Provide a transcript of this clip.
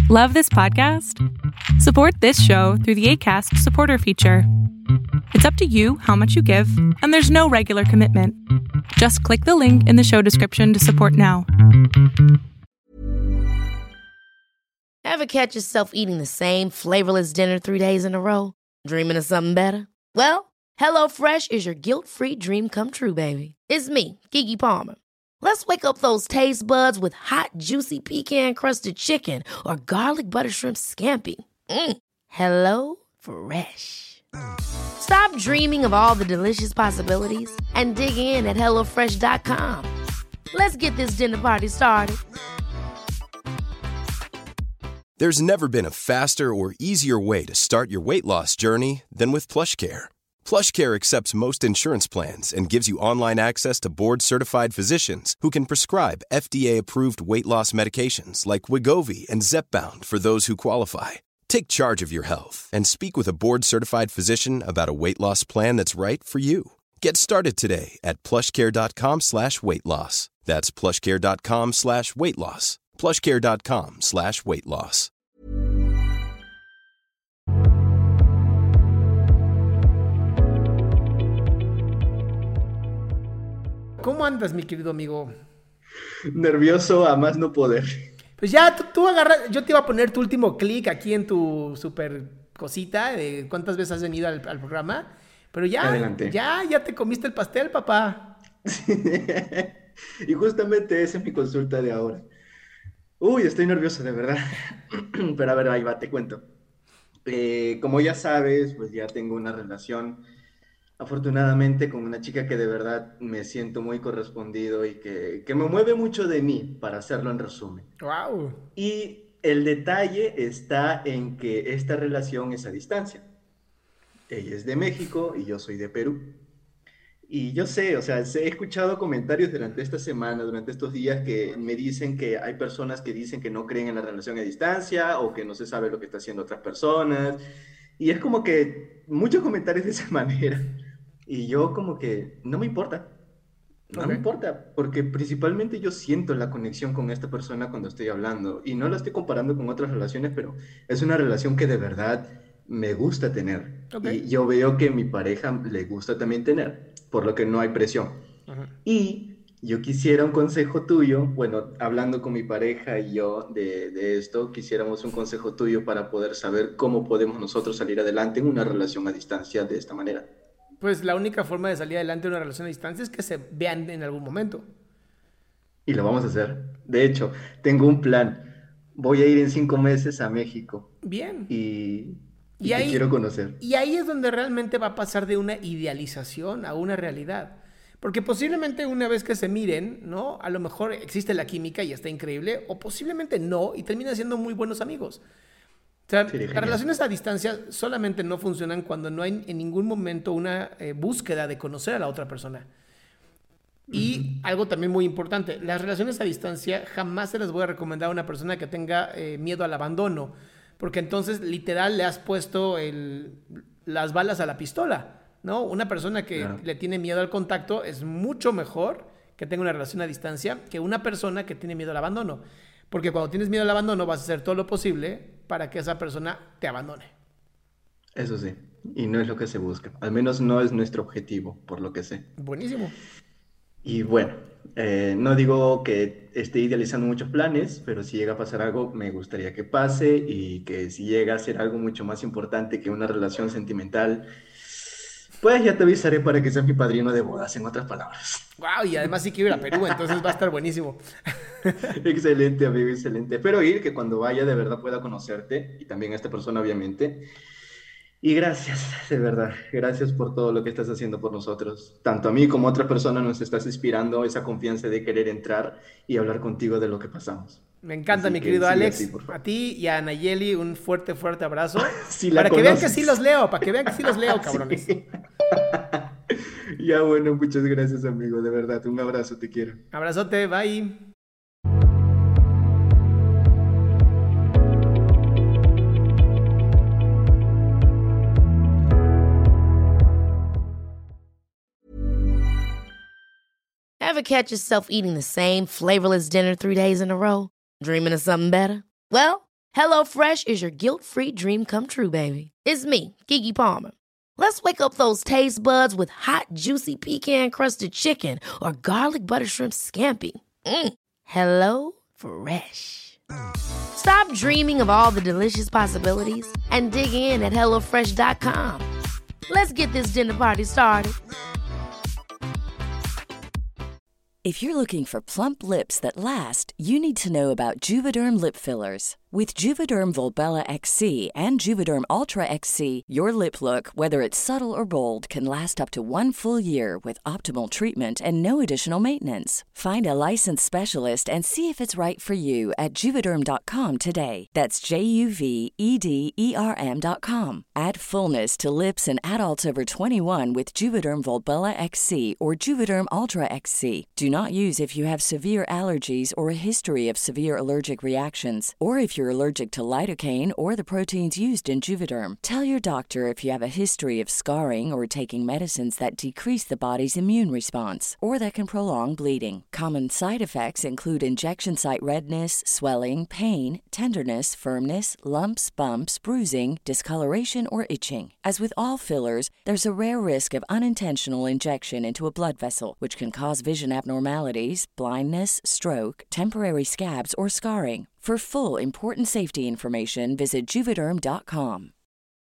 Love this podcast? Support this show through the Acast supporter feature. It's up to you how much you give, and there's no regular commitment. Just click the link in the show description to support now. Ever catch yourself eating the same flavorless dinner 3 days in a row? Dreaming of something better? Well, HelloFresh is your guilt-free dream come true, baby. It's me, Keke Palmer. Let's wake up those taste buds with hot, juicy pecan-crusted chicken or garlic butter shrimp scampi. Hello Fresh. Stop dreaming of all the delicious possibilities and dig in at HelloFresh.com. Let's get this dinner party started. There's never been a faster or easier way to start your weight loss journey than with PlushCare. PlushCare accepts most insurance plans and gives you online access to board-certified physicians who can prescribe FDA-approved weight loss medications like Wegovy and Zepbound for those who qualify. Take charge of your health and speak with a board-certified physician about a weight loss plan that's right for you. Get started today at plushcare.com/weightloss. That's plushcare.com/weightloss. plushcare.com/weightloss. ¿Cómo andas, mi querido amigo? Nervioso a más no poder. Pues ya, tú agarras. Yo te iba a poner tu último clic aquí en tu super cosita de cuántas veces has venido al programa. Pero ya, Adelante. ya te comiste el pastel, papá. Y justamente esa es mi consulta de ahora. Uy, estoy nervioso, de verdad. Pero a ver, ahí va, te cuento. Como ya sabes, pues ya tengo una relación, afortunadamente, con una chica que de verdad me siento muy correspondido y que me mueve mucho de mí, para hacerlo en resumen. Wow. Y el detalle está en que esta relación es a distancia. Ella es de México y yo soy de Perú. Y yo sé, o sea, he escuchado comentarios durante esta semana, durante estos días, que me dicen que hay personas que dicen que no creen en la relación a distancia o que no se sabe lo que está haciendo otras personas. Y es como que muchos comentarios de esa manera. Y yo como que no me importa. No me importa, porque principalmente yo siento la conexión con esta persona cuando estoy hablando. Y no la estoy comparando con otras relaciones, pero es una relación que de verdad me gusta tener. Y yo veo que a mi pareja le gusta también tener, por lo que no hay presión. Y yo quisiera un consejo tuyo, bueno, hablando con mi pareja y yo de esto, quisiéramos un consejo tuyo para poder saber cómo podemos nosotros salir adelante en una relación a distancia de esta manera. Pues la única forma de salir adelante en una relación a distancia es que se vean en algún momento. Y lo vamos a hacer. De hecho, tengo un plan. Voy a ir en 5 meses a México. Bien. Y Y te ahí, quiero conocer. Y ahí es donde realmente va a pasar de una idealización a una realidad. Porque posiblemente una vez que se miren, ¿no? A lo mejor existe la química y está increíble, o posiblemente no, y terminan siendo muy buenos amigos. O sea, Sería las genial. relaciones a distancia solamente no funcionan cuando no hay en ningún momento una búsqueda de conocer a la otra persona. Y algo también muy importante, las relaciones a distancia jamás se les voy a recomendar a una persona que tenga miedo al abandono, porque entonces literal le has puesto las balas a la pistola, ¿no? Una persona que Claro. le tiene miedo al contacto es mucho mejor que tenga una relación a distancia que una persona que tiene miedo al abandono, porque cuando tienes miedo al abandono vas a hacer todo lo posible para que esa persona te abandone. Eso sí. Y no es lo que se busca. Al menos no es nuestro objetivo, por lo que sé. Buenísimo. Y bueno, no digo que esté idealizando muchos planes, pero si llega a pasar algo, me gustaría que pase y que si llega a ser algo mucho más importante que una relación sentimental, pues ya te avisaré para que seas mi padrino de bodas, en otras palabras. Wow, y además sí quiero ir a Perú, entonces va a estar buenísimo. Excelente, amigo, excelente. Espero ir, que cuando vaya de verdad pueda conocerte y también a esta persona, obviamente. Y gracias, de verdad, gracias por todo lo que estás haciendo por nosotros. Tanto a mí como a otras personas nos estás inspirando esa confianza de querer entrar y hablar contigo de lo que pasamos. Me encanta, Así mi que querido sigue Alex. así, por favor. A ti y a Nayeli un fuerte, fuerte abrazo. Si la para que vean que conoces. sí los leo, para que vean que sí los leo, cabrones. Sí. Ya bueno, muchas gracias, amigo, de verdad, un abrazo, te quiero. Abrazote, bye. Ever catch yourself eating the same flavorless dinner 3 days in a row? Dreaming of something better? Well, HelloFresh is your guilt-free dream come true, baby. It's me, Keke Palmer. Let's wake up those taste buds with hot, juicy pecan-crusted chicken or garlic butter shrimp scampi. Hello Fresh. Stop dreaming of all the delicious possibilities and dig in at HelloFresh.com. Let's get this dinner party started. If you're looking for plump lips that last, you need to know about Juvederm lip fillers. With Juvederm Volbella XC and Juvederm Ultra XC, your lip look, whether it's subtle or bold, can last up to 1 full year with optimal treatment and no additional maintenance. Find a licensed specialist and see if it's right for you at Juvederm.com today. That's JUVEDERM.com. Add fullness to lips in adults over 21 with Juvederm Volbella XC or Juvederm Ultra XC. Do not use if you have severe allergies or a history of severe allergic reactions, or if you're allergic to lidocaine or the proteins used in Juvederm. Tell your doctor if you have a history of scarring or taking medicines that decrease the body's immune response or that can prolong bleeding. Common side effects include injection site redness, swelling, pain, tenderness, firmness, lumps, bumps, bruising, discoloration, or itching. As with all fillers, there's a rare risk of unintentional injection into a blood vessel, which can cause vision abnormalities, blindness, stroke, temporary scabs, or scarring. For full, important safety information, visit Juvederm.com.